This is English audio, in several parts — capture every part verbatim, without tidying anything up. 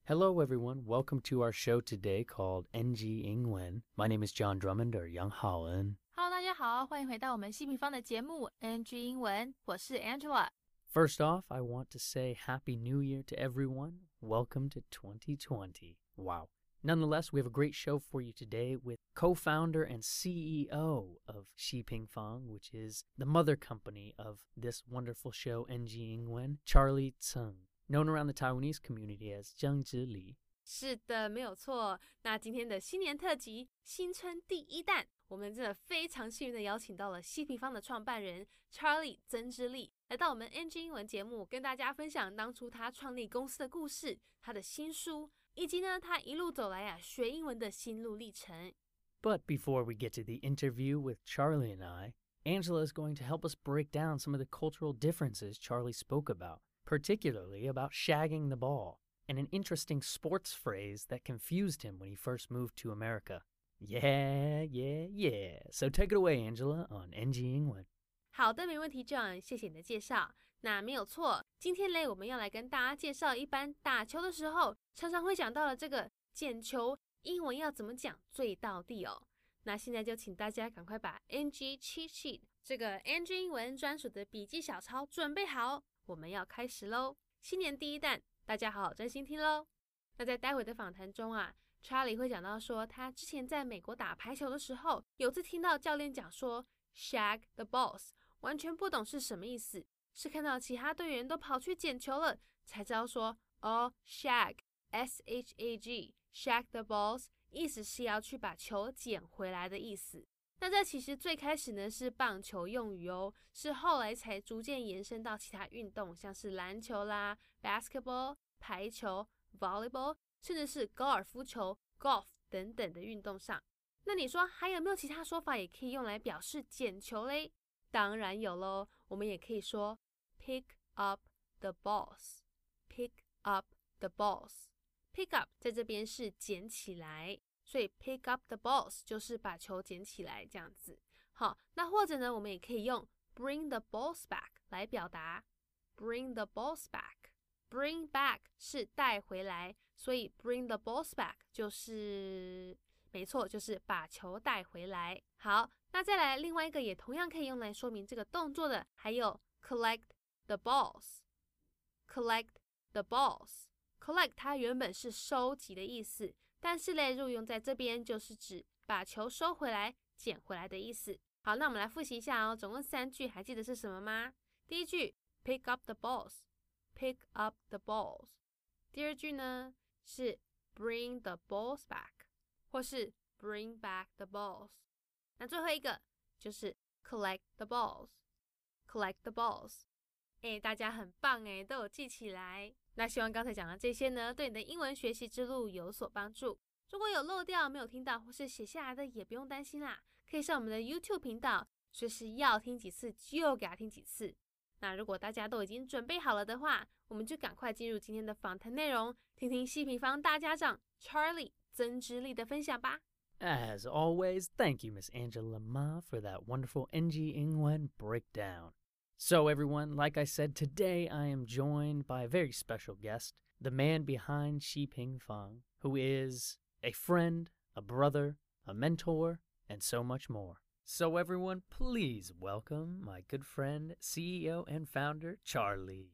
Hello, everyone. Welcome to our show today called N G 英文. My name is John Drummond or Yang Haoen. Hello， 大家好，欢迎回到我们西平方的节目 N G 英文，我是 Angela。First off, I want to say Happy New Year to everyone. Welcome to twenty twenty. Wow. Nonetheless, we have a great show for you today with co-founder and C E O of Xi Pingfang, which is the mother company of this wonderful show N G 英文, Charlie Tseng, known around the Taiwanese community as 姜之礼。 是的，没有错。那今天的新年特辑，新春第一弹，我们真的非常幸运的邀请到了西平方的创办人 Charlie 曾之礼，来到我们 N G 英文节目，跟大家分享当初他创立公司的故事，他的新书，以及呢他一路走来啊学英文的心路历程。 But before we get to the interview with Charlie and I, Angela is going to help us break down some of the cultural differences Charlie spoke about, particularly about shagging the ball, and an interesting sports phrase that confused him when he first moved to America. Yeah, yeah, yeah. So take it away, Angela, on N G 英文。 好的，没问题 John， 谢谢你的介绍。那没有错，今天嘞我们要来跟大家介绍一般打球的时候常常会讲到的这个捡球，英文要怎么讲最道地哦。那现在就请大家赶快把 N G Cheat Sheet 这个 N G 英文专属的笔记小抄准备好，我们要开始咯。新年第一弹，大家好好专心听咯。那在待会的访谈中啊， Charlie 会讲到说他之前在美国打排球的时候，有次听到教练讲说 shag the balls， 完全不懂是什么意思，是看到其他队员都跑去捡球了才知道说哦 shag S H A G shag the balls 意思是要去把球捡回来的意思。那这其实最开始呢是棒球用语哦，是后来才逐渐延伸到其他运动，像是篮球啦 basketball 排球 volleyball 甚至是高尔夫球 golf 等等的运动上。那你说还有没有其他说法也可以用来表示捡球嘞？当然有咯，我们也可以说 pick up the balls pick up the balls pick up 在这边是捡起来，所以 pick up the balls 就是把球捡起来这样子。好，那或者呢我们也可以用 bring the balls back 来表达 bring the balls back bring back 是带回来，所以 bring the balls back 就是没错，就是把球带回来。好，那再来另外一个也同样可以用来说明这个动作的，还有 collect the balls collect the balls collect 它原本是收集的意思，但是嘞如果用在这边就是指把球收回来捡回来的意思。好，那我们来复习一下哦，总共三句，还记得是什么吗？第一句 pick up the balls pick up the balls 第二句呢是 bring the balls back 或是 bring back the balls 那最后一个就是 collect the balls collect the balls 诶，大家很棒诶，都有记起来。那希望刚才讲的这些呢对你的英文学习之路有所帮助。如果有漏掉没有听到或是写下来的也不用担心啦，可以上我们的 YouTube 频道，随时要听几次就给他听几次。那如果大家都已经准备好了的话，我们就赶快进入今天的访谈内容，听听西平方大家长 Charlie 曾之礼的分享吧。 As always, thank you, Miss Angela Ma, for that wonderful N G 英文 breakdown. So everyone, like I said, today I am joined by a very special guest, the man behind Xi Pingfang, who is a friend, a brother, a mentor, and so much more. So everyone, please welcome my good friend, C E O and founder, Charlie.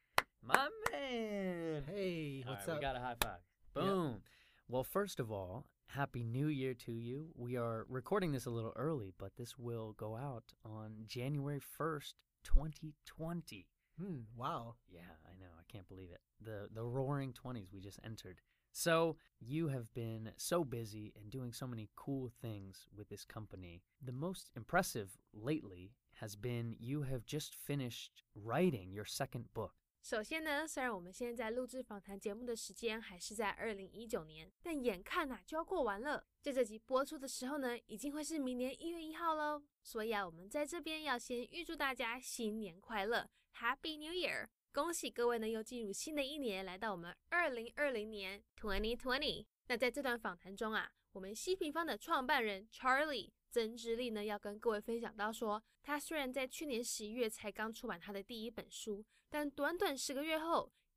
My man! Hey, what's right, up? We got a high five. Boom. Yep. Well, first of all, Happy New Year to you. We are recording this a little early, but this will go out on January first, twenty twenty. Hmm, wow. Yeah, I know. I can't believe it. The the roaring twenties we just entered. So you have been so busy and doing so many cool things with this company. The most impressive lately has been you have just finished writing your second book. 首先呢，虽然我们现在录制访谈节目的时间还是在二零一九年，但眼看啊就要过完了。在这集播出的时候呢，已经会是明年一月一号咯。所以啊，我们在这边要先预祝大家新年快乐 ，Happy New Year！ 恭喜各位呢又进入新的一年，来到我们二零二零年 twenty twenty。那在这段访谈中啊，我们西平方的创办人 Charlie 曾之礼呢要跟各位分享到说，他虽然在去年十一月才刚出版他的第一本书，但短短十个月后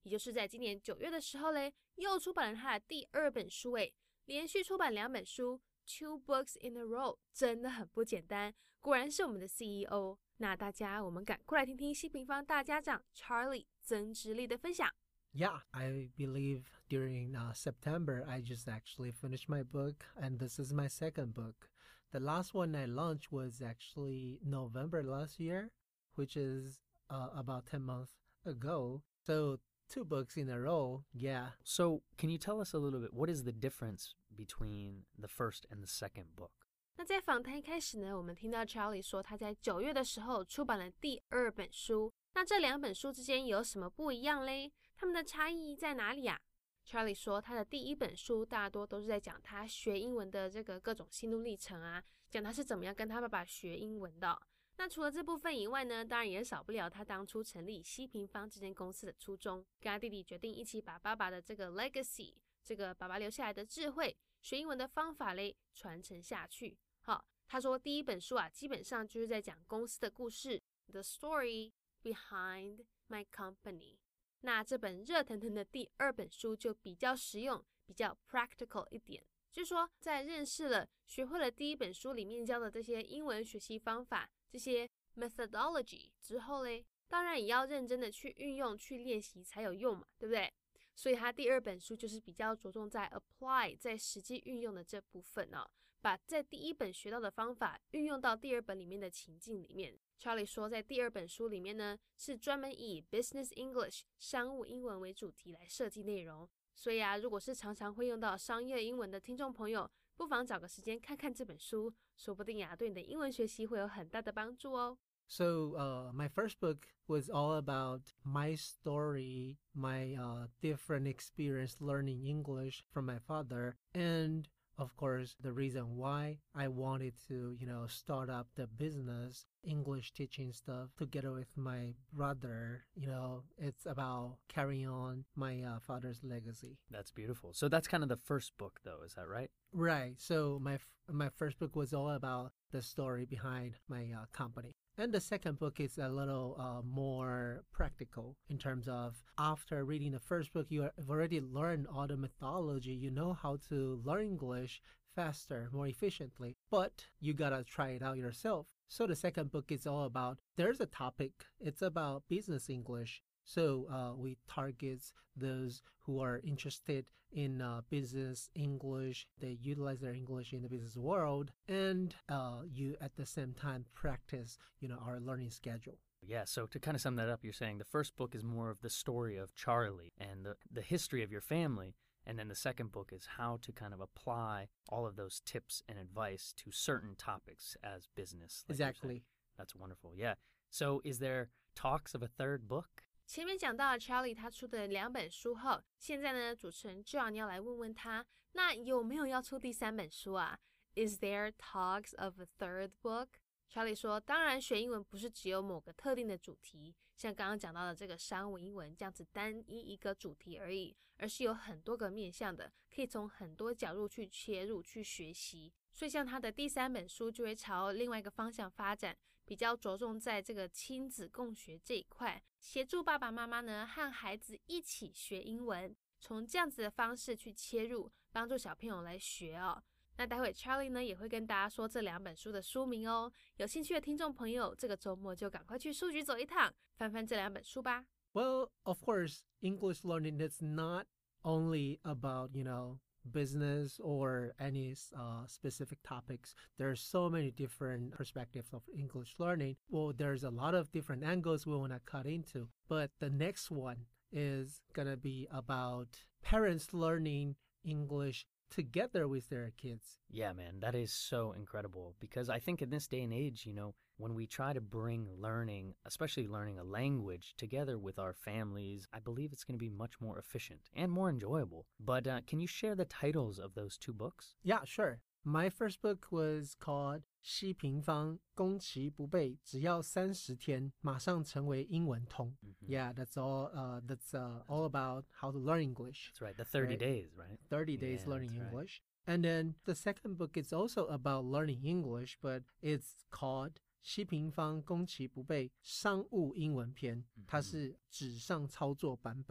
也就是在今年九月的时候嘞，又出版了他的第二本书诶，连续出版两本书 ，two books in a row， 真的很不简单，果然是我们的 C E O。那大家，我们赶快来听听西平方大家长 Charlie 曾直立的分享。 Yeah, I believe during uh, September, I just actually finished my book, and this is my second book. The last one I launched was actually November last year, which is uh, about ten months ago. So two books in a row, yeah. So can you tell us a little bit, what is the difference between the first and the second book? 那在访谈一开始呢，我们听到 Charlie 说他在九月的时候出版了第二本书。那这两本书之间有什么不一样嘞？他们的差异在哪里啊？ Charlie 说他的第一本书大多都是在讲他学英文的这个各种心路历程啊，讲他是怎么样跟他爸爸学英文的。那除了这部分以外呢，当然也少不了他当初成立西平方这间公司的初衷，跟他弟弟决定一起把爸爸的这个 legacy， 这个爸爸留下来的智慧，学英文的方法嘞传承下去。好，他说第一本书啊，基本上就是在讲公司的故事 ，the story behind my company。那这本热腾腾的第二本书就比较实用，比较 practical 一点。就是说，在认识了、学会了第一本书里面教的这些英文学习方法、这些 methodology 之后嘞，当然也要认真的去运用、去练习才有用嘛，对不对？所以他第二本书就是比较着重在 apply， 在实际运用的这部分哦，把在第一本学到的方法运用到第二本里面的情境里面。Charlie 说，在第二本书里面呢，是专门以 Business English 商务英文为主题来设计内容。所以啊，如果是常常会用到商业英文的听众朋友，不妨找个时间看看这本书，说不定啊，对你的英文学习会有很大的帮助哦。 So uh, my first book was all about my story, my uh, different experience learning English from my father, and of course, the reason why I wanted to, you know, start up the business, English teaching stuff together with my brother. You know, it's about carrying on my uh, father's legacy. That's beautiful. So that's kind of the first book, though, is that right? Right. So my my first book was all about the story behind my uh, company. And the second book is a little uh, more practical in terms of after reading the first book, you have already learned all the methodology. You know how to learn English faster, more efficiently, but you gotta try it out yourself. So the second book is all about, there's a topic, it's about business English. So uh, we target those who are interested in uh, business English. They utilize their English in the business world, and uh, you at the same time practice, you know, our learning schedule. Yeah, so to kind of sum that up, you're saying the first book is more of the story of Charlie and the, the history of your family, and then the second book is how to kind of apply all of those tips and advice to certain topics as business. Like exactly. That's wonderful, yeah. So is there talks of a third book? 前面讲到了 Charlie 他出的两本书后，现在呢，主持人 John 要来问问他，那有没有要出第三本书啊？ Is there talks of a third book? Charlie 说，当然学英文不是只有某个特定的主题，像刚刚讲到的这个商务英文这样子单一一个主题而已，而是有很多个面向的，可以从很多角度去切入去学习。所以像他的第三本书就会朝另外一个方向发展，比较着重在这个亲子共学这一块，协助爸爸妈妈呢和孩子一起学英文，从这样子的方式去切入，帮助小朋友来学哦。那待会 Charlie 呢也会跟大家说这两本书的书名哦，有兴趣的听众朋友，这个周末就赶快去书局走一趟，翻翻这两本书吧。 Well, of course, English learning is not only about, you know, business or any uh, specific topics. There's so many different perspectives of English learning. Well, there's a lot of different angles we want to cut into. But the next one is going to be about parents learning English together with their kids. Yeah, man, that is so incredible because I think in this day and age, you know, when we try to bring learning, especially learning a language, together with our families, I believe it's going to be much more efficient and more enjoyable. But uh, can you share the titles of those two books? Yeah, sure. My first book was called 西平方攻其不备，只要三十天，马上成为英文通。Mm-hmm. Yeah, that's all. Uh, that's uh, all about how to learn English. That's right. The thirty right? days, right? Thirty days yeah, learning right. English. And then the second book is also about learning English, but it's called 西平方攻其不备商务英文篇，它是纸上操作版本。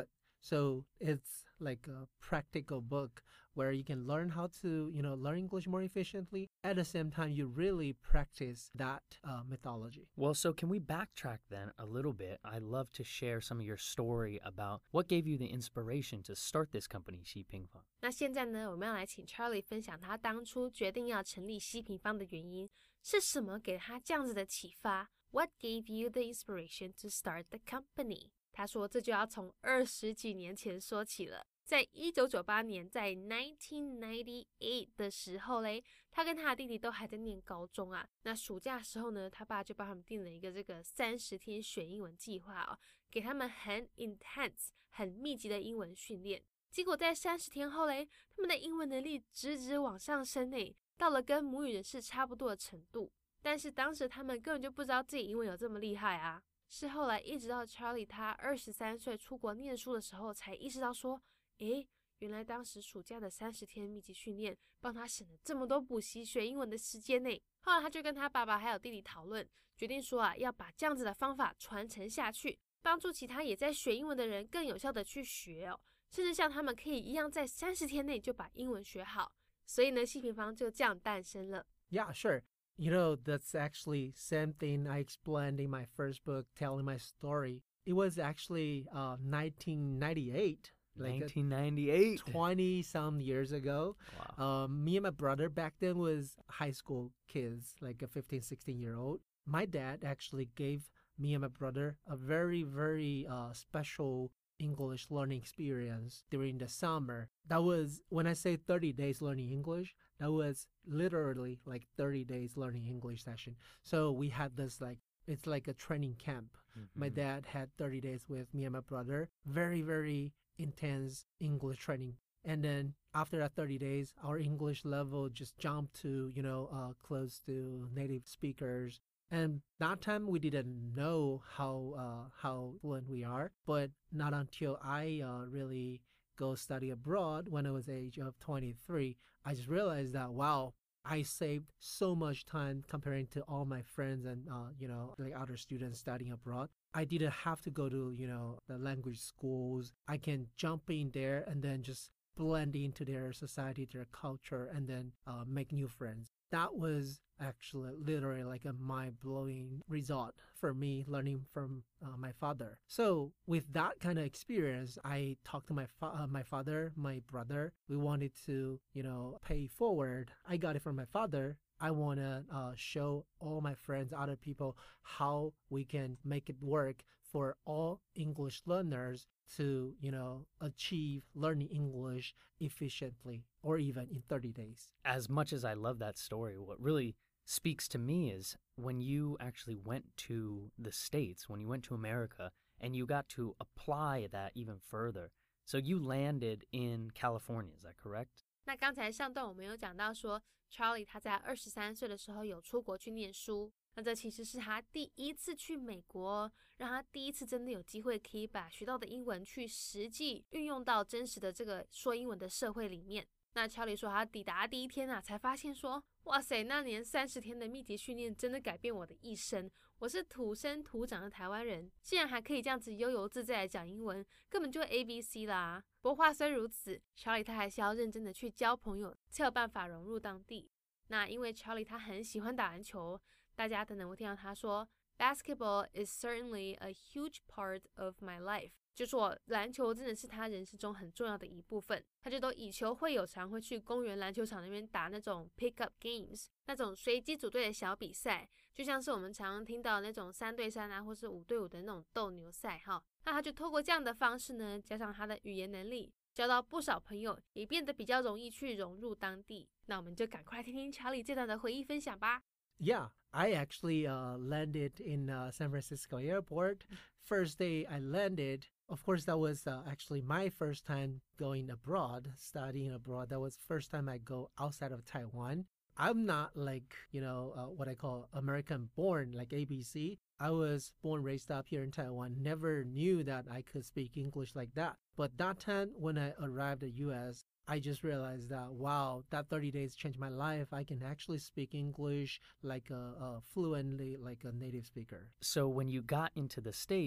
So it's like a practical book where you can learn how to, you know, learn English more efficiently. At the same time, you really practice that uh, methodology. Well, so can we backtrack then a little bit? I'd love to share some of your story about what gave you the inspiration to start this company, 西平方。 那现在呢，我们要来请 Charlie 分享他当初决定要成立西平方的原因是什么，给他这样子的启发。What gave you the inspiration to start the company？ 他说这就要从二十几年前说起了。在一九九八年，在nineteen ninety-eight的时候嘞，他跟他的弟弟都还在念高中啊。那暑假的时候呢，他爸就帮他们定了一个这个三十天学英文计划哦，给他们很 intense、很密集的英文训练。结果在三十天后嘞，他们的英文能力直直往上升呢，到了跟母语人士差不多的程度。但是当时他们根本就不知道自己英文有这么厉害啊，是后来一直到 Charlie 他二十三岁出国念书的时候，才意识到说，诶，原来当时暑假的三十天密集训练帮他省了这么多补习学英文的时间呢。后来他就跟他爸爸还有弟弟讨论，决定说啊，要把这样子的方法传承下去，帮助其他也在学英文的人更有效的去学哦，甚至像他们可以一样在三十天内就把英文学好。所以呢，西平方就这样诞生了。 Yeah, sure. You know, that's actually same thing I explained in my first book, telling my story. It was actually uh, nineteen ninety-eight. Like nineteen ninety-eight. twenty some years ago. Wow. Um, me and my brother back then was high school kids, like a fifteen, sixteen year old. My dad actually gave me and my brother a very, very uh, special English learning experience during the summer. That was, when I say thirty days learning English, that was literally like thirty days learning English session. So we had this like, it's like a training camp. Mm-hmm. My dad had thirty days with me and my brother. Very, very intense English training. And then after that thirty days, our English level just jumped to, you know, uh, close to native speakers. And that time we didn't know how uh, how fluent we are, but not until I uh, really go study abroad when I was age of twenty-three, I just realized that, wow, I saved so much time comparing to all my friends and, uh, you know, like other students studying abroad. I didn't have to go to, you know, the language schools. I can jump in there and then just blend into their society, their culture, and then uh, make new friends. That was actually literally like a mind-blowing result for me learning from uh, my father. So with that kind of experience, I talked to my fa- uh, my father, my brother. We wanted to, you know, pay forward. I got it from my father. I want to uh, show all my friends, other people, how we can make it work for all English learners to, you know, achieve learning English efficiently or even in thirty days. As much as I love that story, what really speaks to me is when you actually went to the States, when you went to America, and you got to apply that even further. So you landed in California, is that correct? 那刚才上段我们有讲到说 Charlie 他在二十三岁的时候有出国去念书，那这其实是他第一次去美国，让他第一次真的有机会可以把学到的英文去实际运用到真实的这个说英文的社会里面。那 Charlie 说他抵达第一天啊，才发现说，哇塞，那年三十天的密集训练真的改变我的一生。我是土生土长的台湾人，竟然还可以这样子悠游自在的讲英文，根本就 A B C 啦。不过话虽如此， Charlie 他还是要认真的去交朋友，才有办法融入当地。那因为 Charlie 他很喜欢打篮球，大家可能会听到他说 Basketball is certainly a huge part of my life， 就说篮球真的是他人生中很重要的一部分。他就都以球会友，常会去公园篮球场那边打那种 pick up games， 那种随机组队的小比赛，就像是我们常常听到那种三对三啊，或是五对五的那种斗牛赛哈。那他就透过这样的方式呢，加上他的语言能力，交到不少朋友，也变得比较容易去融入当地。那我们就赶快听听查理这段的回忆分享吧。 Yeah, I actually uh, landed in uh, San Francisco airport. First day I landed, of course, that was uh, actually my first time going abroad, studying abroad. That was first time I go outside of Taiwan. I'm not like, you know, uh, what I call American born, like A B C. I was born, raised up here in Taiwan, never knew that I could speak English like that. But that time when I arrived at U S, I just realized that, wow, that thirty days changed my life. I can actually speak English like a, a fluently, like a native speaker. So when you got into the States,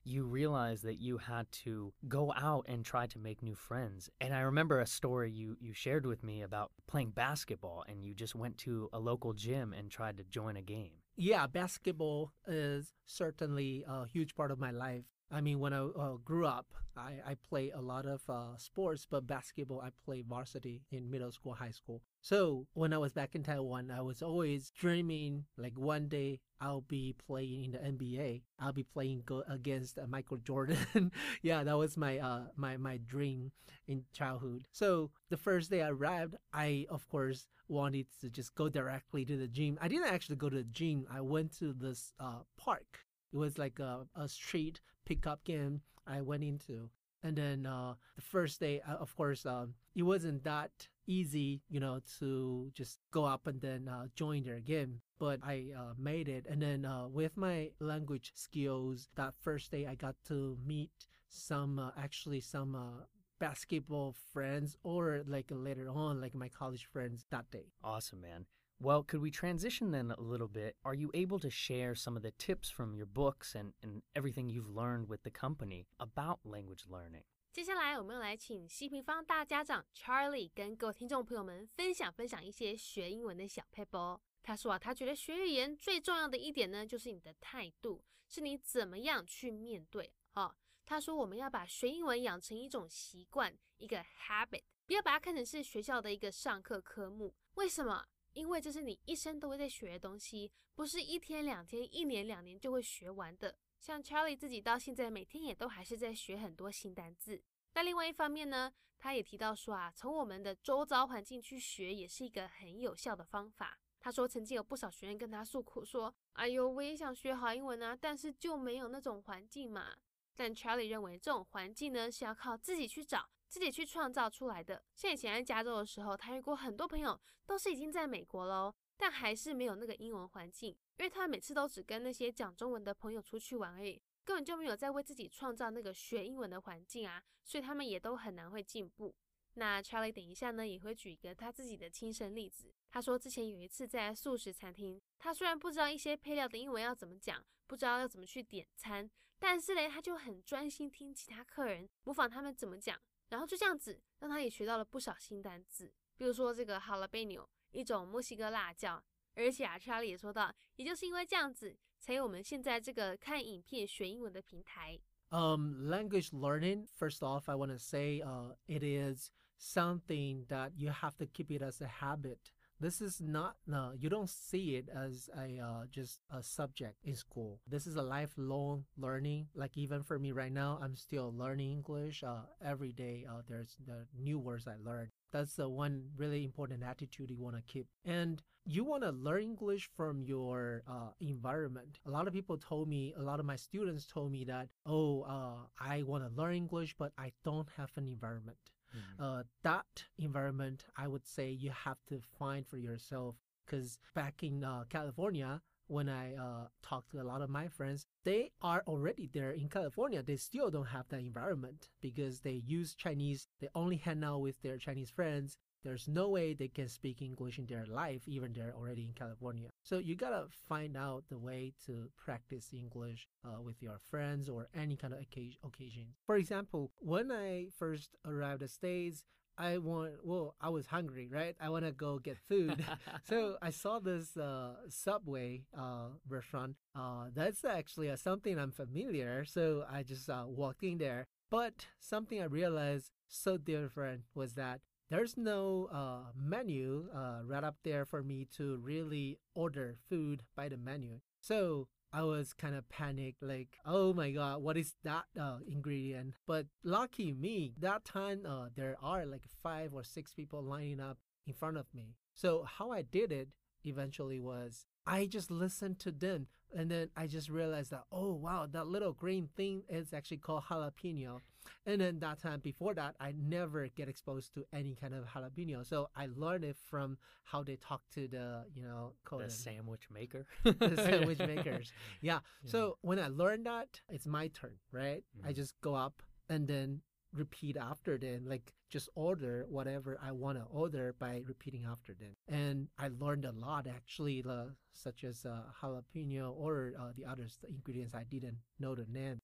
you realized that you had to go out and try to make new friends. And I remember a story you, you shared with me about playing basketball, and you just went to a local gym and tried to join a game. Yeah, basketball is certainly a huge part of my life. I mean, when I uh, grew up, I, I played a lot of uh, sports, but basketball, I played varsity in middle school, high school. So when I was back in Taiwan, I was always dreaming like one day I'll be playing in the N B A. I'll be playing go- against uh, Michael Jordan. Yeah, that was my uh my my dream in childhood. So the first day I arrived, I of course wanted to just go directly to the gym. I didn't actually go to the gym. I went to this uh park. It was like a, a street pickup game I went into. And then uh, the first day, uh, of course, um, it wasn't that easy, you know, to just go up and then uh, join their game. But I uh, made it. And then uh, with my language skills, that first day I got to meet some, uh, actually some uh, basketball friends, or like later on, like my college friends that day. Awesome, man. Well, could we transition then a little bit? Are you able to share some of the tips from your books and, and everything you've learned with the company about language learning? 接下来我们要来请西平方大家长 Charlie 跟各位听众朋友们分享分享一些学英文的小撇步。他说啊，他觉得学语言最重要的一点呢，就是你的态度，是你怎么样去面对。哦，他说我们要把学英文养成一种习惯，一个 habit， 不要把它看成是学校的一个上课科目。为什么？因为这是你一生都会在学的东西，不是一天两天、一年两年就会学完的。像 Charlie 自己到现在每天也都还是在学很多新单字。那另外一方面呢，他也提到说啊，从我们的周遭环境去学也是一个很有效的方法。他说曾经有不少学员跟他诉苦说，哎呦，我也想学好英文啊，但是就没有那种环境嘛。但 Charlie 认为这种环境呢是要靠自己去找，自己去创造出来的。像以前在加州的时候，他遇过很多朋友都是已经在美国了哦，但还是没有那个英文环境，因为他每次都只跟那些讲中文的朋友出去玩而已，根本就没有在为自己创造那个学英文的环境啊，所以他们也都很难会进步。那 Charlie 等一下呢也会举一个他自己的亲身例子。他说之前有一次在素食餐厅，他虽然不知道一些配料的英文要怎么讲，不知道要怎么去点餐，但是呢他就很专心听其他客人模仿他们怎么讲，然后就这样子让他也学到了不少新单字，比如说这个 jalapeno 一种墨西哥辣椒。而且啊 Charlie 也说到，也就是因为这样子才有我们现在这个看影片学英文的平台。 Um, language learning, first off, I want to say uh, it is something that you have to keep it as a habit. This is not, no, you don't see it as a uh, just a subject in school. This is a lifelong learning. Like even for me right now, I'm still learning English. Uh, every day uh, there's the new words I learn. That's the one really important attitude you want to keep. And you want to learn English from your uh, environment. A lot of people told me, a lot of my students told me that, oh, uh, I want to learn English, but I don't have an environment. Mm-hmm. Uh, that environment, I would say you have to find for yourself. Because back in uh, California, when I uh, talk to a lot of my friends, they are already there in California. They still don't have that environment because they use Chinese. They only hang out with their Chinese friends. There's no way they can speak English in their life, even they're already in California. So you gotta find out the way to practice English uh, with your friends or any kind of occasion. For example, when I first arrived at States, I want, well, I was hungry, right? I want to go get food. So I saw this uh, Subway uh, restaurant. Uh, that's actually uh, something I'm familiar. So I just uh, walked in there. But something I realized so different was that there's no uh, menu uh, right up there for me to really order food by the menu. So I was kind of panicked, like, oh my God, what is that uh, ingredient? But lucky me, that time uh, there are like five or six people lining up in front of me. So how I did it eventually was I just listened to them. And then I just realized that, oh, wow, that little green thing is actually called jalapeno. And then that time before that, I never get exposed to any kind of jalapeno. So I learned it from how they talk to the, you know, the sandwich maker. The sandwich makers. Yeah. yeah. So when I learned that, it's my turn, right? Mm-hmm. I just go up and then repeat after them, like just order whatever I want to order by repeating after them. And I learned a lot actually, uh, such as uh, jalapeno or uh, the other ingredients I didn't know the name.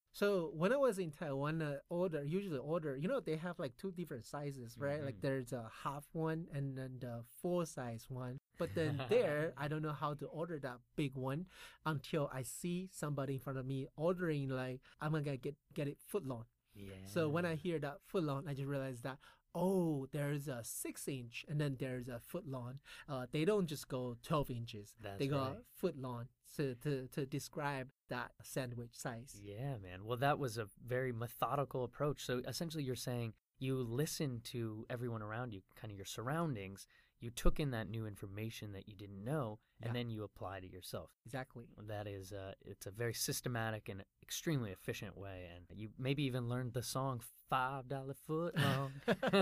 So when I was in Taiwan, uh, order usually order, you know, they have like two different sizes, right? Mhm. Like there's a half one and then the full size one. But then there, I don't know how to order that big one until I see somebody in front of me ordering like I'm gonna get get it foot long. Yeah. So when I hear that foot long, I just realized that oh, there's a six inch and then there's a foot long. Uh, they don't just go twelve inches. That's they go right. foot long to, to to describe that sandwich size. Yeah, man. Well, that was a very methodical approach. So essentially, you're saying you listen to everyone around you, kind of your surroundings. You took in that new information that you didn't know, and Yeah. then you applied it yourself. Exactly. That is, uh, it's a very systematic and extremely efficient way. And you maybe even learned the song Five Dollar Foot Long.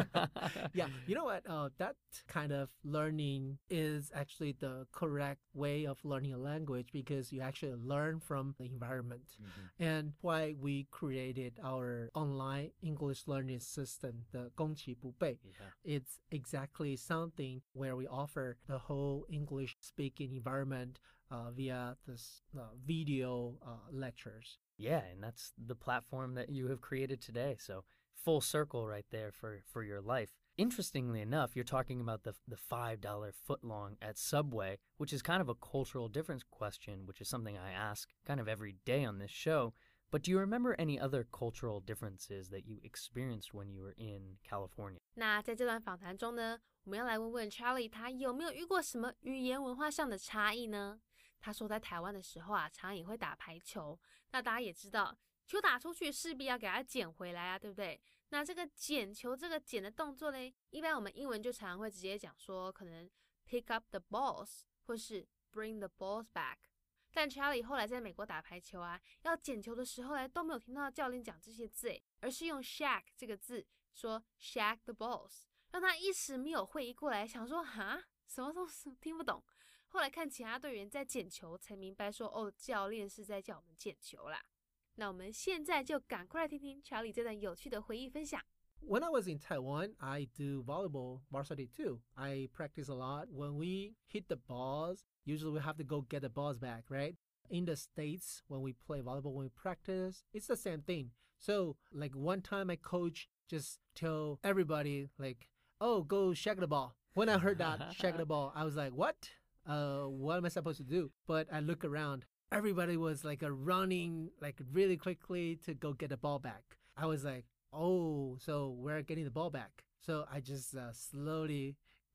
Yeah, you know what? Uh, that kind of learning is actually the correct way of learning a language because you actually learn from the environment. Mhm. And why we created our online English learning system, the 攻其不背, Yeah. it's exactly something where we offer the whole English speaking environment uh, via this uh, video uh, lectures. Yeah, and that's the platform that you have created today. So full circle right there for, for your life. Interestingly enough, you're talking about the the five dollar footlong at Subway, which is kind of a cultural difference question, which is something I ask kind of every day on this show. But do you remember any other cultural differences that you experienced when you were in California? 那在这段访谈中呢，我们要来问问 Charlie 他有没有遇过什么语言文化上的差异呢？他说在台湾的时候啊，常常也会打排球。那大家也知道，球打出去势必要给它捡回来啊，对不对？那这个捡球这个捡的动作嘞，一般我们英文就常常会直接讲说，可能 pick up the balls 或是 bring the balls back。但 Charlie 后来在美国打排球啊，要捡球的时候呢，都没有听到教练讲这些字诶，而是用 shag 这个字说 shag the balls， 让他一时没有会意过来，想说哈什么东西听不懂。后来看其他队员在捡球，才明白说哦，教练是在叫我们捡球啦。那我们现在就赶快来听听 Charlie 这段有趣的回忆分享。 When I was in Taiwan, I do volleyball varsity too. I practice a lot. When we hit the balls, usually we have to go get the balls back, right? In the States, when we play volleyball, when we practice, it's the same thing. So, like one time my coach just tell everybody, like, oh, go shag the ball. When I heard that, shag the ball, I was like, what? Uh, what am I supposed to do? But I look around. Everybody was like uh, running like really quickly to go get the ball back. I was like, oh, so we're getting the ball back. So I just uh, slowly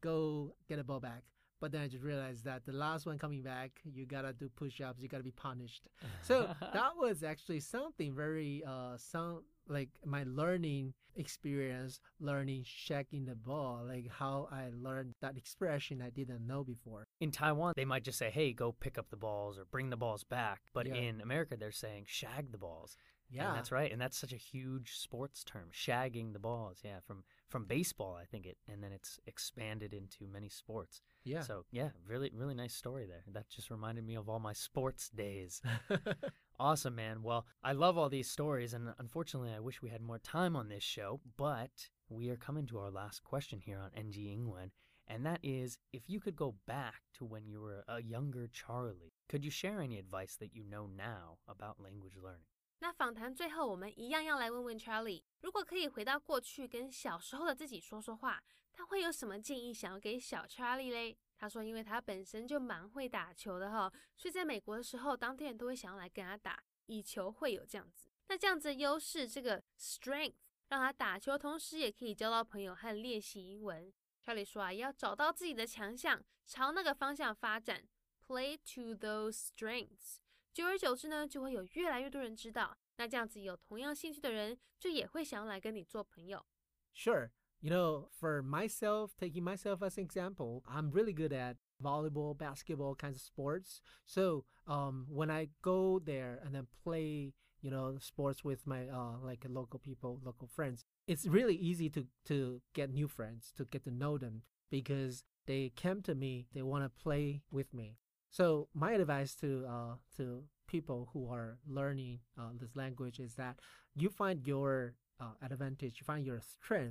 go get the ball back. But then I just realized that the last one coming back, you gotta do push-ups, you gotta be punished. So that was actually something very, uh, some like my learning experience, learning shagging the ball, like how I learned that expression I didn't know before. In Taiwan, they might just say, hey, go pick up the balls or bring the balls back. But Yeah. in America, they're saying shag the balls. Yeah, And that's right. And that's such a huge sports term, shagging the balls. Yeah, from from baseball, I think it, and then it's expanded into many sports. yeah. So yeah, really, really nice story there. That just reminded me of all my sports days. Awesome, man. Well, I love all these stories, and unfortunately, I wish we had more time on this show, but we are coming to our last question here on N G Ingwen, and that is, if you could go back to when you were a younger Charlie, could you share any advice that you know now about language learning? 那访谈最后，我们一样要来问问 Charlie， 如果可以回到过去跟小时候的自己说说话，他会有什么建议想要给小 Charlie 嘞？他说，因为他本身就蛮会打球的哈，所以在美国的时候，当地人都会想要来跟他打，以球会友这样子。那这样子的优势，这个 strength 让他打球，同时也可以交到朋友和练习英文。Charlie 说啊，要找到自己的强项，朝那个方向发展 ，play to those strengths。久而久之呢，就会有越来越多人知道。那这样子有同样兴趣的人，就也会想要来跟你做朋友。 Sure. You know, for myself, taking myself as an example, I'm really good at volleyball, basketball kinds of sports. So um, when I go there and then play, you know, sports with my uh, like local people, local friends, it's really easy to to get new friends, to get to know them because they came to me, they want to play with me. So my advice to uh, to people who are learning uh, this language is that you find your uh, advantage, you find your strength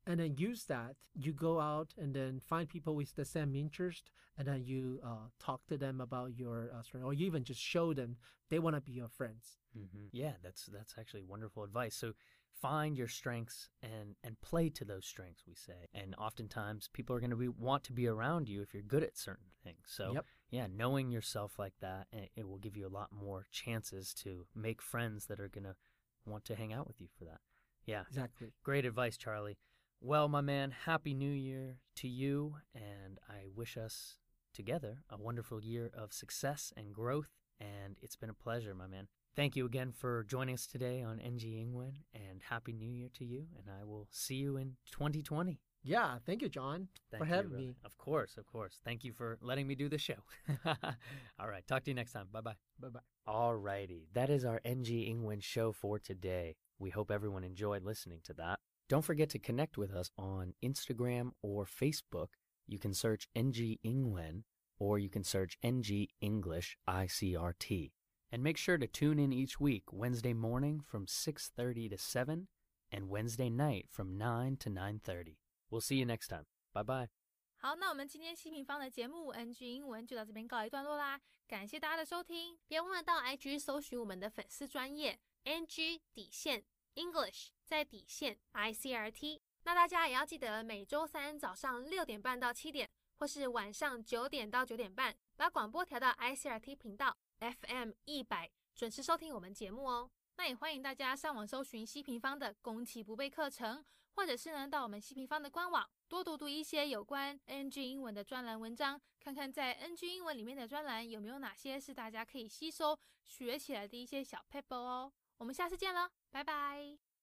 and then use that. You go out and then find people with the same interest, and then you uh, talk to them about your uh, strength, or you even just show them they want to be your friends. Mm-hmm. Yeah, that's that's actually wonderful advice. So find your strengths and and play to those strengths, we say. And oftentimes people are going to be want to be around you if you're good at certain things. So Yep. yeah, knowing yourself like that, it, it will give you a lot more chances to make friends that are going to want to hang out with you for that. Yeah. Exactly. Great advice, Charlie. Well, my man, Happy New Year to you, and I wish us together a wonderful year of success and growth, and it's been a pleasure, my man. Thank you again for joining us today on N G Ingwen, and Happy New Year to you, and I will see you in twenty twenty. Yeah, thank you, John, Thank for you, having brother. me. Of course, of course. Thank you for letting me do the show. All right, talk to you next time. Bye-bye. Bye-bye. All righty, that is our N G Ingwen show for today. We hope everyone enjoyed listening to that. Don't forget to connect with us on Instagram or Facebook. You can search N G Ingwen, or you can search N G English I C R T. And make sure to tune in each week, Wednesday morning from six thirty to seven, and Wednesday night from nine to nine thirty. We'll see you next time. Bye-bye. 好，那我们今天西平方的节目 N G 英文就到这边告一段落啦，感谢大家的收听，别忘了到 I G 搜寻我们的粉丝专页 N G 底线 English 在底线 I C R T。那大家也要记得每周三早上六点半到七点，或是晚上九点到九点半，把广播调到 I C R T 频道 F M 一百，准时收听我们节目哦。那也欢迎大家上网搜寻西平方的攻其不备课程，或者是呢到我们西平方的官网多读读一些有关 N G 英文的专栏文章，看看在 N G 英文里面的专栏有没有哪些是大家可以吸收学起来的一些小 paper 哦。我们下次见了，拜拜。